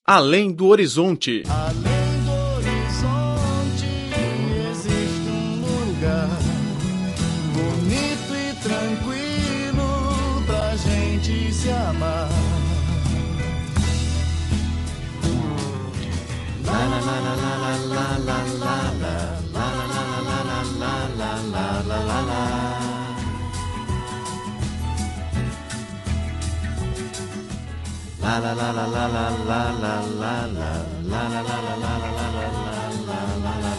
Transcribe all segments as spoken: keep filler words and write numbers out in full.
Além do horizonte. Além do horizonte existe um lugar bonito e tranquilo pra gente se amar. La la la la la la la la la la la la la la la la. La la la la la la la la la la la la la la la la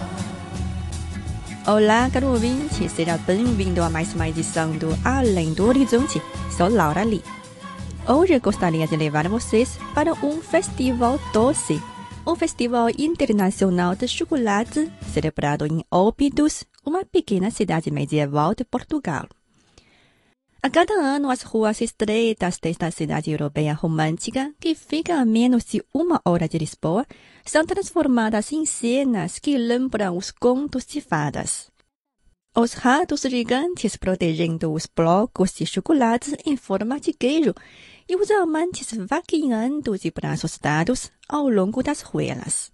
la. Olá, caro ouvinte, seja bem-vindo a mais uma edição do Além do Horizonte. Sou Laura Lee. Hoje gostaria de levar vocês para um festival doce, um festival internacional de chocolate celebrado em Óbidos, uma pequena cidade medieval de Portugal. A cada ano, as ruas estreitas desta cidade europeia romântica, que fica a menos de uma hora de Lisboa, são transformadas em cenas que lembram os contos de fadas. Os ratos gigantes protegendo os blocos de chocolate em forma de queijo e os amantes vaqueando de braços dados ao longo das ruelas.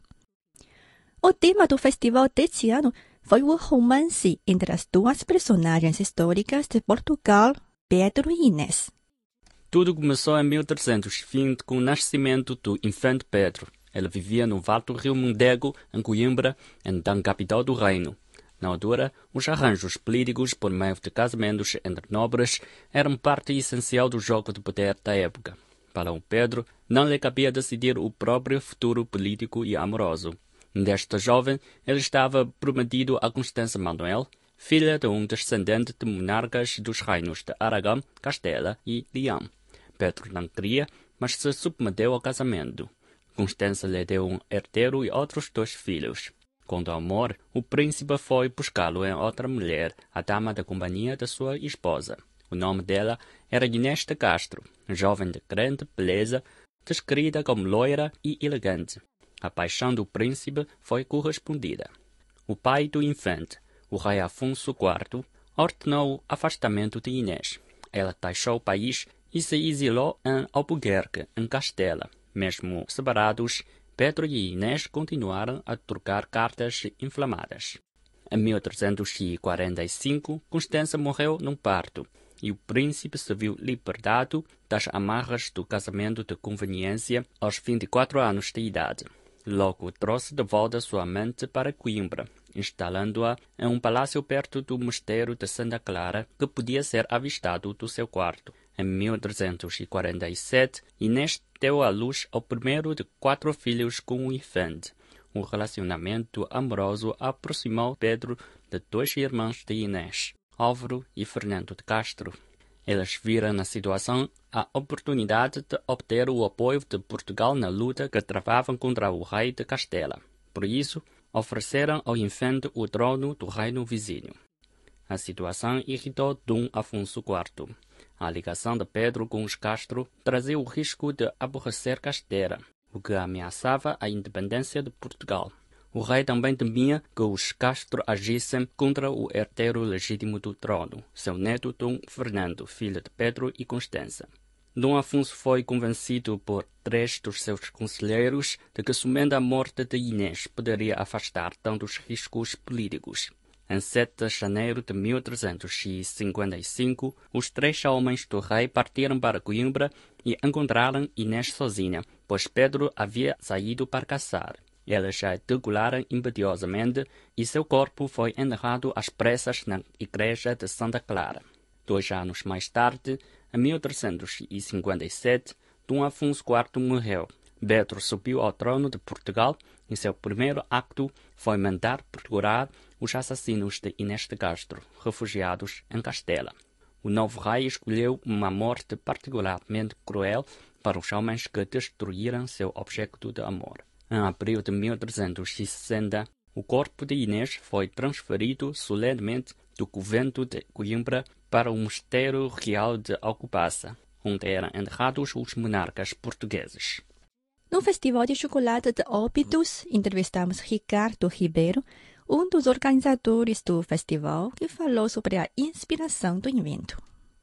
O tema do festival deste ano foi o romance entre as duas personagens históricas de Portugal, Pedro e Inês. Tudo começou em mil trezentos e vinte com o nascimento do infante Pedro. Ele vivia no vale do rio Mondego, em Coimbra, então capital do reino. Na altura, os arranjos políticos por meio de casamentos entre nobres eram parte essencial do jogo de poder da época. Para o Pedro, não lhe cabia decidir o próprio futuro político e amoroso. Deste jovem, ele estava prometido a Constança Manuel, filha de um descendente de monarcas dos reinos de Aragão, Castela e Leão. Pedro não queria, mas se submeteu ao casamento. Constança lhe deu um herdeiro e outros dois filhos. Com o amor, o príncipe foi buscá-lo em outra mulher, a dama da companhia de sua esposa. O nome dela era Inês de Castro, jovem de grande beleza, descrita como loira e elegante. A paixão do príncipe foi correspondida. O pai do infante, o rei Afonso quarto, ordenou o afastamento de Inês. Ela deixou o país e se exilou em Albuquerque, em Castela. Mesmo separados, Pedro e Inês continuaram a trocar cartas inflamadas. Em mil trezentos e quarenta e cinco, Constança morreu num parto e o príncipe se viu libertado das amarras do casamento de conveniência aos vinte e quatro anos de idade. Logo trouxe de volta sua amante para Coimbra, instalando-a em um palácio perto do mosteiro de Santa Clara, que podia ser avistado do seu quarto. Em mil trezentos e quarenta e sete, Inês deu à luz ao primeiro de quatro filhos com o infante. Um relacionamento amoroso aproximou Pedro de dois irmãos de Inês, Álvaro e Fernando de Castro. Eles viram na situação a oportunidade de obter o apoio de Portugal na luta que travavam contra o rei de Castela. Por isso, ofereceram ao infante o trono do reino vizinho. A situação irritou Dom Afonso quarto. A ligação de Pedro com os Castro trazia o risco de aborrecer Castela, o que ameaçava a independência de Portugal. O rei também temia que os Castro agissem contra o herdeiro legítimo do trono, seu neto Dom Fernando, filho de Pedro e Constança. Dom Afonso foi convencido por três dos seus conselheiros de que somente a morte de Inês poderia afastar tantos riscos políticos. Em sete de janeiro de mil trezentos e cinquenta e cinco, os três homens do rei partiram para Coimbra e encontraram Inês sozinha, pois Pedro havia saído para caçar. Eles a degolaram impetuosamente e seu corpo foi enterrado às pressas na igreja de Santa Clara. Dois anos mais tarde, em mil trezentos e cinquenta e sete, Dom Afonso quarto morreu. Pedro subiu ao trono de Portugal e seu primeiro acto foi mandar procurar os assassinos de Inês de Castro, refugiados em Castela. O novo rei escolheu uma morte particularmente cruel para os homens que destruíram seu objeto de amor. Em abril de mil trezentos e sessenta, o corpo de Inês foi transferido solenemente do convento de Coimbra para o mosteiro real de Alcobaça, onde eram enterrados os monarcas portugueses. No Festival de Chocolate de Óbidos, entrevistamos Ricardo Ribeiro, um dos organizadores do festival, que falou sobre a inspiração do evento.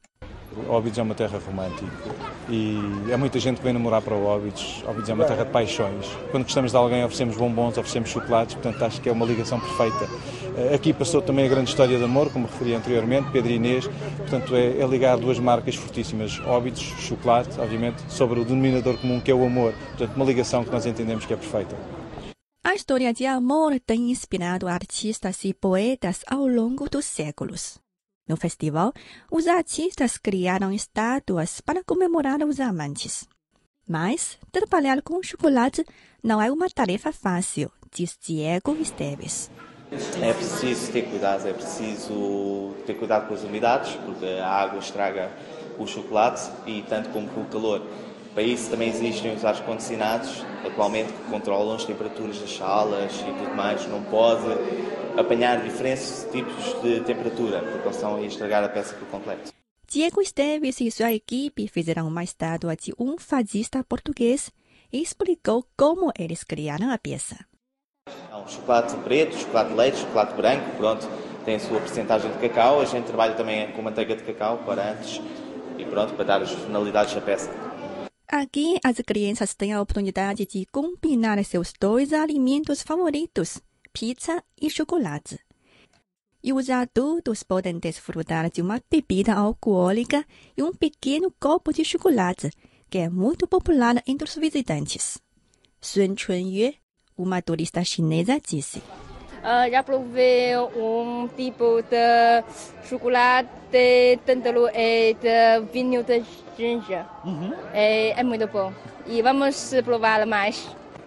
Óbidos é uma terra romântica e há muita gente que vem namorar para Óbidos. Óbidos é uma terra de paixões. Quando gostamos de alguém oferecemos bombons, oferecemos chocolates, portanto acho que é uma ligação perfeita. Aqui passou também a grande história de amor, como referi anteriormente, Pedro e Inês, portanto é, é ligar duas marcas fortíssimas, Óbidos, chocolate, obviamente, sobre o denominador comum que é o amor, portanto uma ligação que nós entendemos que é perfeita. A história de amor tem inspirado artistas e poetas ao longo dos séculos. No festival, os artistas criaram estátuas para comemorar os amantes. Mas trabalhar com chocolate não é uma tarefa fácil, diz Diego Esteves. É preciso ter cuidado, é preciso ter cuidado com as umidades, porque a água estraga o chocolate e tanto como com o calor. Para isso também existem os ar-condicionados, atualmente que controlam as temperaturas das salas e tudo mais. Não pode apanhar diferentes tipos de temperatura, porque eles estão a estragar a peça por completo. Diego Esteves e sua equipe fizeram uma estátua de um fadista português e explicou como eles criaram a peça. Um chocolate preto, chocolate de leite, chocolate branco, pronto, tem a sua percentagem de cacau. A gente trabalha também com manteiga de cacau para antes e pronto, para dar as tonalidades à peça. Aqui, as crianças têm a oportunidade de combinar seus dois alimentos favoritos, pizza e chocolate. E os adultos podem desfrutar de uma bebida alcoólica e um pequeno copo de chocolate, que é muito popular entre os visitantes. Sun Chunyue, uma turista chinesa, disse: uh, já provei um tipo de chocolate dentro de vinho de ginger. Uhum. É, é muito bom. E vamos provar mais.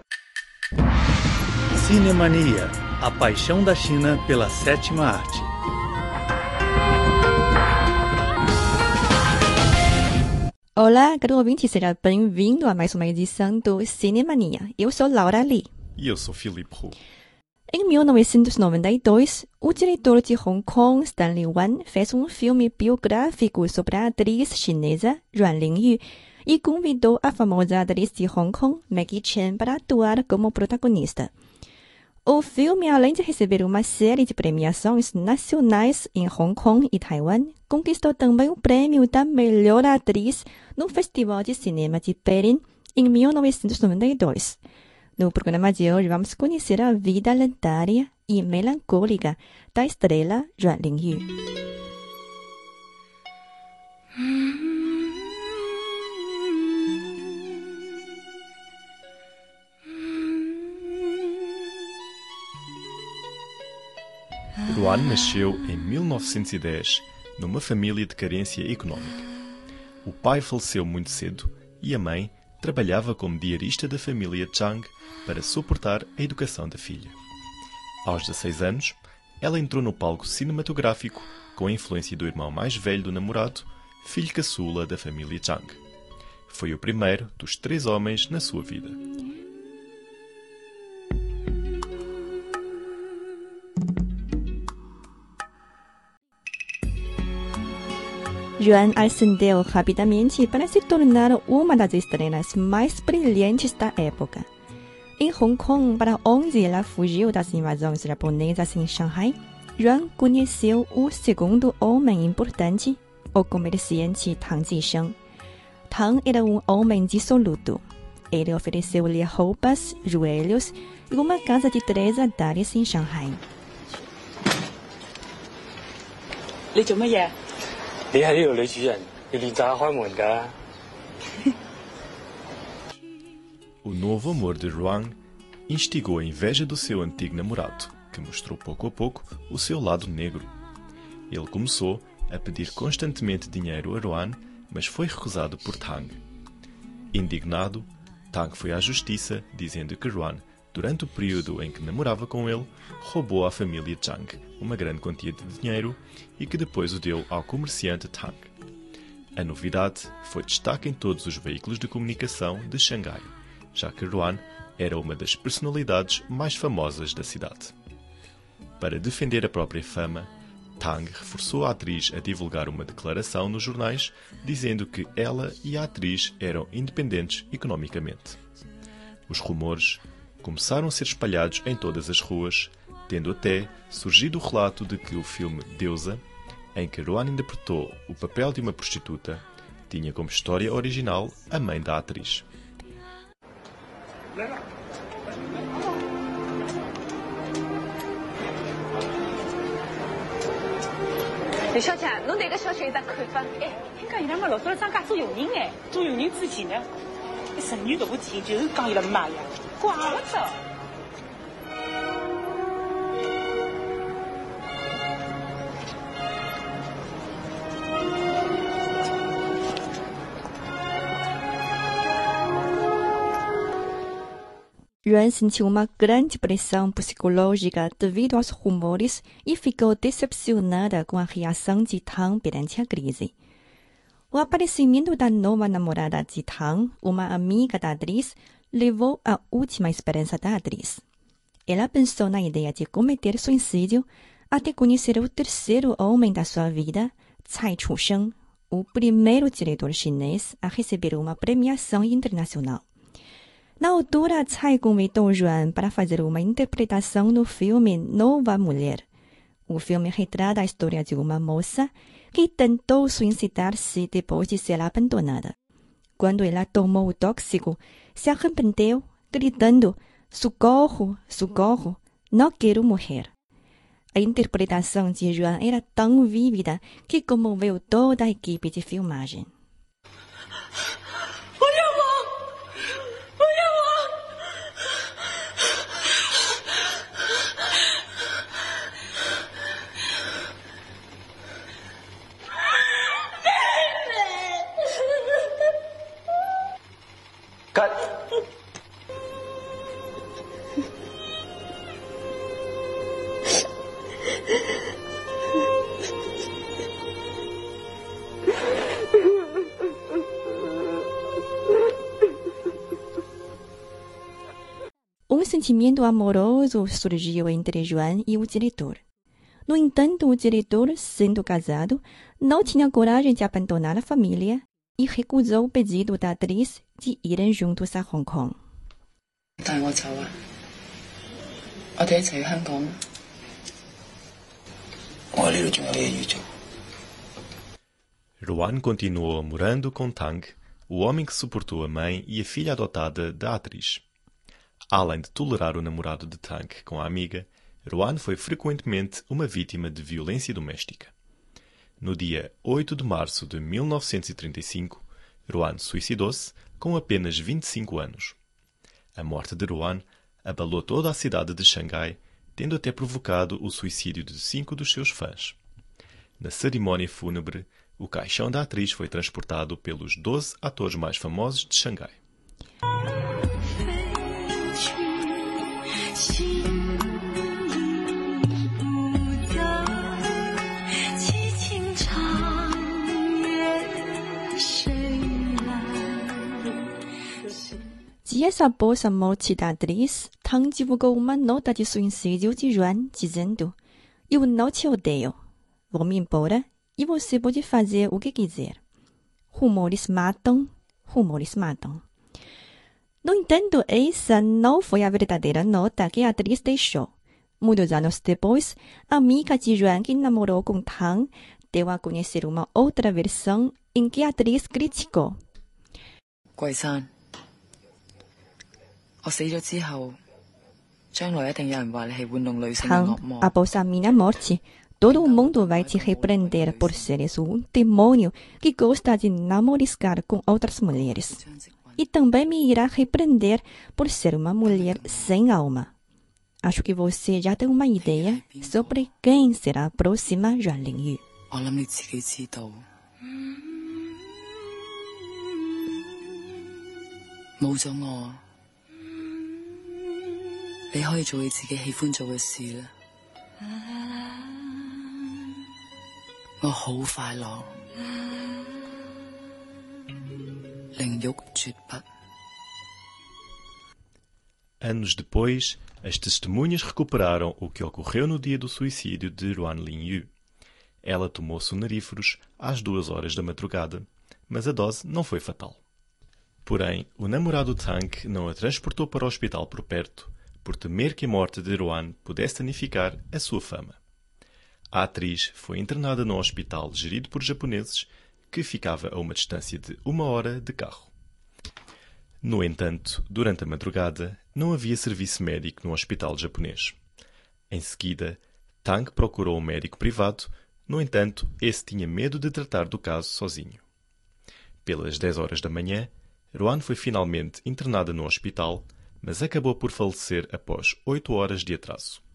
Cinemania, a paixão da China pela sétima arte. Olá, caro ouvinte, seja bem-vindo a mais uma edição do Cinemania. Eu sou Laura Lee. E eu sou Philippe Roux. Em mil novecentos e noventa e dois, o diretor de Hong Kong, Stanley Wan, fez um filme biográfico sobre a atriz chinesa Yuan Lingyu e convidou a famosa atriz de Hong Kong, Maggie Chen, para atuar como protagonista. O filme, além de receber uma série de premiações nacionais em Hong Kong e Taiwan, conquistou também o prêmio da melhor atriz no Festival de Cinema de Berlim em mil novecentos e noventa e dois. No programa de hoje, vamos conhecer a vida lendária e melancólica da estrela Yuan Lingyu. Yuan nasceu em mil novecentos e dez numa família de carência económica. O pai faleceu muito cedo e a mãe trabalhava como diarista da família Chang para suportar a educação da filha. Aos dezesseis anos, ela entrou no palco cinematográfico com a influência do irmão mais velho do namorado, filho caçula da família Chang. Foi o primeiro dos três homens na sua vida. Yuan ascendeu rapidamente para se tornar uma das estrelas mais brilhantes da época. Em Hong Kong, para onde ela fugiu das invasões japonesas em Shanghai, Yuan conheceu o segundo homem importante, o comerciante Tang Jisheng. Tang era um homem dissoluto. Ele ofereceu-lhe roupas, joelhos e uma casa de três andares em Shanghai. O novo amor de Yuan instigou a inveja do seu antigo namorado, que mostrou pouco a pouco o seu lado negro. Ele começou a pedir constantemente dinheiro a Yuan, mas foi recusado por Tang. Indignado, Tang foi à justiça, dizendo que Yuan, durante o período em que namorava com ele, roubou à família Chang uma grande quantia de dinheiro e que depois o deu ao comerciante Tang. A novidade foi destaque em todos os veículos de comunicação de Xangai, já que Yuan era uma das personalidades mais famosas da cidade. Para defender a própria fama, Tang reforçou a atriz a divulgar uma declaração nos jornais dizendo que ela e a atriz eram independentes economicamente. Os rumores começaram a ser espalhados em todas as ruas, tendo até surgido o relato de que o filme Deusa em que Ruan interpretou o papel de uma prostituta, tinha como história original a mãe da atriz. 李小姐，侬对搿小姐有啥看法？哎，听讲伊拉妈老早来张家做佣人哎，做佣人之前呢，十年大事体就是讲伊拉妈呀，怪不得。 Ruan sentiu uma grande pressão psicológica devido aos rumores e ficou decepcionada com a reação de Tang perante a crise. O aparecimento da nova namorada de Tang, uma amiga da atriz, levou à última esperança da atriz. Ela pensou na ideia de cometer suicídio até conhecer o terceiro homem da sua vida, Cai Chusheng, o primeiro diretor chinês a receber uma premiação internacional. Na altura, Cai convidou Ruan para fazer uma interpretação no filme Nova Mulher. O filme retrata a história de uma moça que tentou suicidar-se depois de ser abandonada. Quando ela tomou o tóxico, se arrependeu, gritando: "Socorro, socorro, não quero morrer." A interpretação de Ruan era tão vívida que comoveu toda a equipe de filmagem. Um sentimento amoroso surgiu entre Ruan e o diretor. No entanto, o diretor, sendo casado, não tinha coragem de abandonar a família e recusou o pedido da atriz de irem juntos a Hong Kong. 帶我走啊！我哋一齊去香港。 我喺呢度仲有啲嘢要做。 Ruan continuou morando com Tang, o homem que suportou a mãe e a filha adotada da atriz. Além de tolerar o namorado de Tang com a amiga, Ruan foi frequentemente uma vítima de violência doméstica. No dia oito de março de mil novecentos e trinta e cinco, Ruan suicidou-se com apenas vinte e cinco anos. A morte de Ruan abalou toda a cidade de Xangai, tendo até provocado o suicídio de cinco dos seus fãs. Na cerimónia fúnebre, o caixão da atriz foi transportado pelos doze atores mais famosos de Xangai. Dias após a morte da atriz, Tang divulgou uma nota de suicídio de Ruan, dizendo: "Eu não te odeio. Vou-me embora e você pode fazer o que quiser. Rumores matam, rumores matam." No entanto, essa não foi a verdadeira nota que a atriz deixou. Muitos anos depois, a amiga de Ruan que namorou com Tang deu a conhecer uma outra versão em que a atriz criticou. 桂山，我死咗之後，將來一定有人話你係玩弄女性嘅惡魔。 Após a minha morte, todo mundo vai te repreender por seres um demônio que gosta de namoriscar com outras mulheres. E também me irá repreender por ser uma mulher sem alma. Acho que você já tem uma ideia sobre quem será a próxima Ruan Lingyu. 我諗你自己知道，冇咗我，你可以做你自己喜歡做嘅事啦。我好快樂，靈慾絕筆。 Anos depois, as testemunhas recuperaram o que ocorreu no dia do suicídio de Ruan Lingyu. Ela tomou sonoríferos às duas horas da madrugada, mas a dose não foi fatal. Porém, o namorado Tang não a transportou para o hospital por perto, por temer que a morte de Ruan pudesse danificar a sua fama. A atriz foi internada num hospital gerido por japoneses que ficava a uma distância de uma hora de carro. No entanto, durante a madrugada, não havia serviço médico no hospital japonês. Em seguida, Tang procurou um médico privado, no entanto, esse tinha medo de tratar do caso sozinho. Pelas dez horas da manhã, Ruan foi finalmente internada no hospital, mas acabou por falecer após oito horas de atraso.